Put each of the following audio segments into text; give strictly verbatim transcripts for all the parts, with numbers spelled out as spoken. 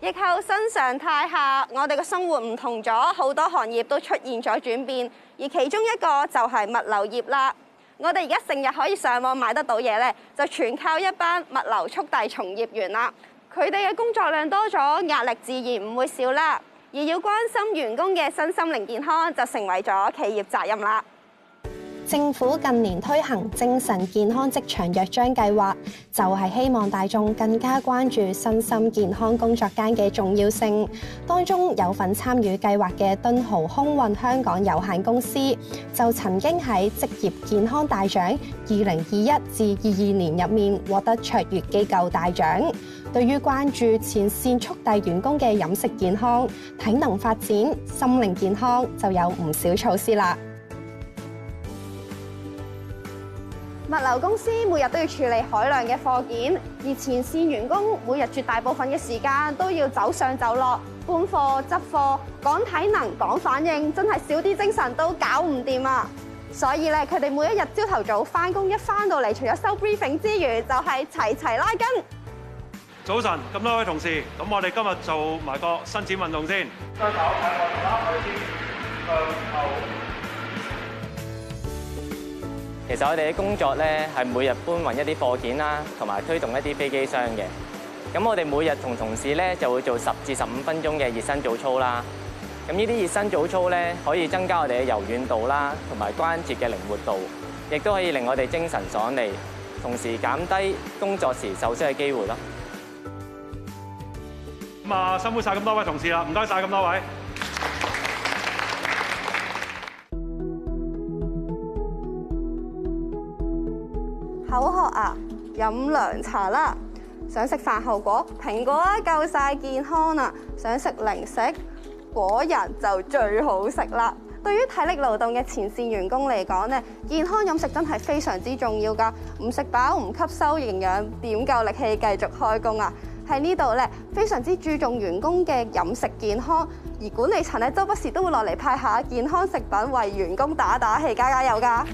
疫後新常態下，我哋嘅生活唔同咗，好多行業都出現咗轉變，而其中一個就係物流業啦。我哋而家成日可以上網買得到嘢咧，就全靠一班物流速遞從業員啦。佢哋嘅工作量多咗，壓力自然唔會少啦。而要關心員工嘅身心靈健康，就成為咗企業責任啦。 政府近年推行精神健康職場約章計劃，就係希望大眾更加關注身心健康工作間嘅重要性。當中有份參與計劃嘅敦豪空運香港有限公司，就曾經喺職業健康大獎二零二一至二二年入面獲得卓越機構大獎。對於關注前線速遞員工嘅飲食健康、體能發展、心靈健康，就有唔少措施啦。 物流公司每日都要處理海量嘅貨件，而前線員工每日絕大部分嘅時間都要走上走落，搬貨、執貨、講體能、講反應，真係少啲精神都搞唔掂啊！所以咧，佢哋每一日朝頭早翻工，一翻到嚟，除咗收 briefing 之餘，就係齊齊拉筋。 早晨，咁多位同事，咁我哋今日做埋個伸展運動先。雙手睇我哋啦，我哋先向後。 其實我哋嘅工作咧係每日搬運一啲貨件啦，同埋推動一啲飛機箱嘅。咁我哋每日同同事咧就會做十至十五分鐘嘅熱身早操啦。咁呢啲熱身早操咧可以增加我哋嘅柔軟度啦，同埋關節嘅靈活度，亦都可以令我哋精神爽利，同時減低工作時受傷嘅機會咯。 咁啊，辛苦晒咁多位同事啦，唔該晒咁多位。 口渴啊，飲涼茶啦！想食飯後果，蘋果啊夠晒健康啊！想食零食，果仁就最好食啦！對於體力勞動嘅前線員工嚟講咧，健康飲食真係非常之重要㗎。唔食飽唔吸收營養，點夠力氣繼續開工啊？喺呢度咧，非常之注重員工嘅飲食健康，而管理層咧周不時都會落嚟派下健康食品，為員工打打氣、加加油㗎。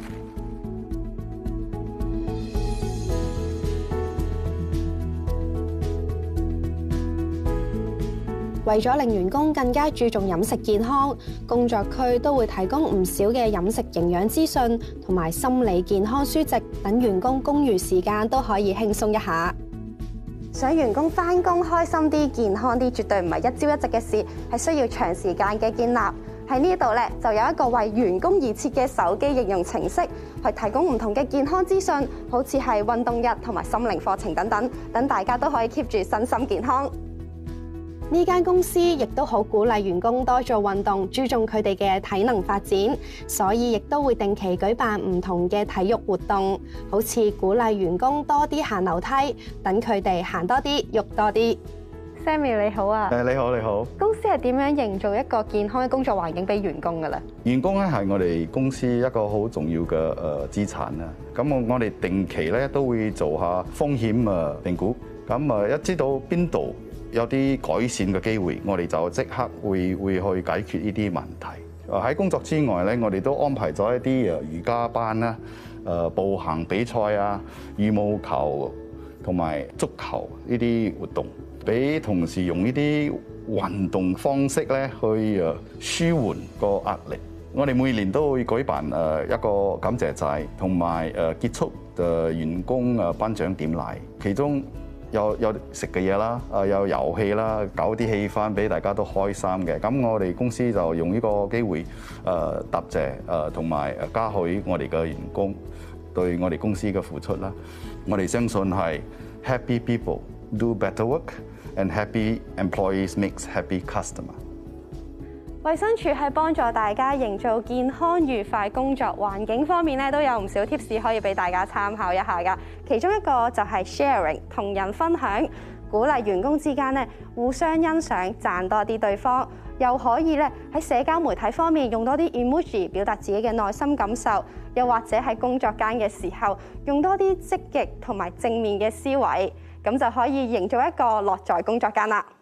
為咗令員工更加注重飲食健康，工作區都會提供唔少嘅飲食營養資訊同埋心理健康書籍，等員工公餘時間都可以輕鬆一下。 想員工返工開心啲、健康啲，絕對唔係一朝一夕嘅事，係需要長時間嘅建立。喺呢度咧，就有一個為員工而設嘅手機應用程式，去提供唔同嘅健康資訊，好似係運動日同埋心靈課程等等，等大家都可以 keep 住身心健康。 呢間公司亦都好鼓勵員工多做運動，注重佢哋嘅體能發展，所以亦都會定期舉辦唔同嘅體育活動，好似鼓勵員工多啲行樓梯，等佢哋行多啲，喐多啲。 Sammy 你好啊！ 誒你好你好。 公司係點樣營造一個健康嘅工作環境俾員工㗎咧？ 員工咧係我哋公司一個好重要嘅誒資產啦。咁我我哋定期咧都會做下風險誒評估，咁啊一知道邊度有啲改善嘅機會，我哋就即刻會會去解決呢啲問題。誒喺工作之外咧，我哋都安排咗一啲誒瑜伽班啦、誒步行比賽啊、羽毛球同埋足球呢啲活動，俾同事用呢啲運動方式咧去誒舒緩個壓力。我哋每年都會舉辦誒一個感謝祭，同埋誒結束誒員工誒頒獎典禮，其中有有食嘅嘢啦，誒有遊戲啦，搞啲氣氛俾大家都開心嘅。咁我哋公司就用呢個機會誒答謝誒同埋誒嘉許我哋嘅員工對我哋公司嘅付出啦。我哋相信係 Happy people do better work and happy employees makes happy customer。 衛生署喺幫助大家營造健康愉快工作環境方面咧，都有唔少 tips 可以俾大家參考一下㗎。其中一個就係 sharing 同人分享，鼓勵員工之間咧互相欣賞，讚多啲對方，又可以咧喺社交媒體方面用多啲 emoji 表達自己嘅內心感受，又或者喺工作間嘅時候用多啲積極同埋正面嘅思維，咁就可以營造一個樂在工作間啦。